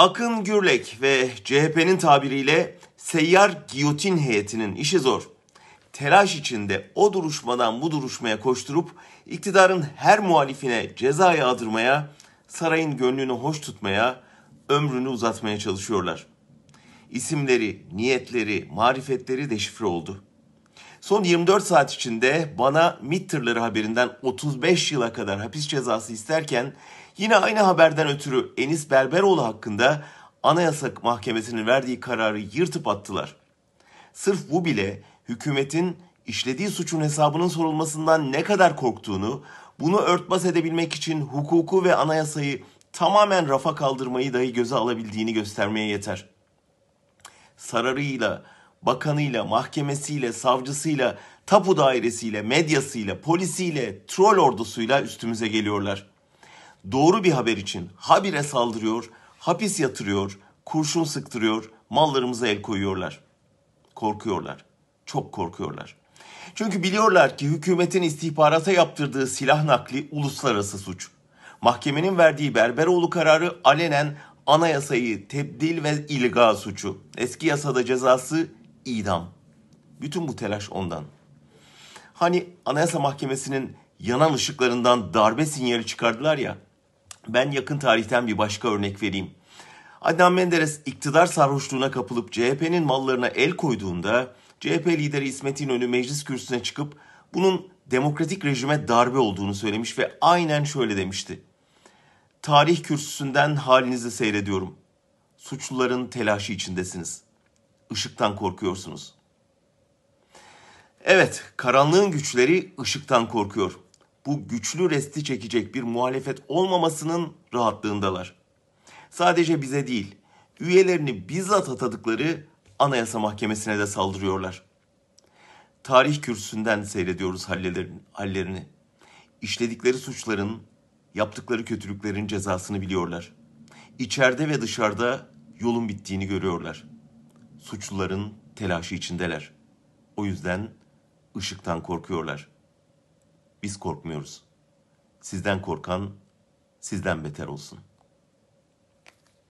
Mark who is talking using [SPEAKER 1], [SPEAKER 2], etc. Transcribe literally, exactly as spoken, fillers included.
[SPEAKER 1] Akın Gürlek ve C H P'nin tabiriyle seyyar giyotin heyetinin işi zor. Telaş içinde o duruşmadan bu duruşmaya koşturup iktidarın her muhalifine ceza yağdırmaya, sarayın gönlünü hoş tutmaya, ömrünü uzatmaya çalışıyorlar. İsimleri, niyetleri, marifetleri deşifre oldu. Son yirmi dört saat içinde bana MİT tırları haberinden otuz beş yıla kadar hapis cezası isterken yine aynı haberden ötürü Enis Berberoğlu hakkında Anayasa Mahkemesi'nin verdiği kararı yırtıp attılar. Sırf bu bile hükümetin işlediği suçun hesabının sorulmasından ne kadar korktuğunu, bunu örtbas edebilmek için hukuku ve anayasayı tamamen rafa kaldırmayı dahi göze alabildiğini göstermeye yeter. Sararıyla, bakanıyla, mahkemesiyle, savcısıyla, tapu dairesiyle, medyasıyla, polisiyle, troll ordusuyla üstümüze geliyorlar. Doğru bir haber için habire saldırıyor, hapis yatırıyor, kurşun sıktırıyor, mallarımıza el koyuyorlar. Korkuyorlar, çok korkuyorlar. Çünkü biliyorlar ki hükümetin istihbarata yaptırdığı silah nakli uluslararası suç. Mahkemenin verdiği Berberoğlu kararı alenen anayasayı tebdil ve ilga suçu. Eski yasada cezası idam. Bütün bu telaş ondan. Hani Anayasa Mahkemesi'nin yanan ışıklarından darbe sinyali çıkardılar ya. Ben yakın tarihten bir başka örnek vereyim. Adnan Menderes iktidar sarhoşluğuna kapılıp C H P'nin mallarına el koyduğunda C H P lideri İsmet İnönü meclis kürsüsüne çıkıp bunun demokratik rejime darbe olduğunu söylemiş ve aynen şöyle demişti. Tarih kürsüsünden halinizi seyrediyorum. Suçluların telaşı içindesiniz. Işıktan korkuyorsunuz. Evet, karanlığın güçleri ışıktan korkuyor. Bu güçlü resti çekecek bir muhalefet olmamasının rahatlığındalar. Sadece bize değil, üyelerini bizzat atadıkları Anayasa Mahkemesi'ne de saldırıyorlar. Tarih kürsüsünden seyrediyoruz hallerini. İşledikleri suçların, yaptıkları kötülüklerin cezasını biliyorlar. İçeride ve dışarıda yolun bittiğini görüyorlar. Suçluların telaşı içindeler. O yüzden ışıktan korkuyorlar. Biz korkmuyoruz. Sizden korkan sizden beter olsun.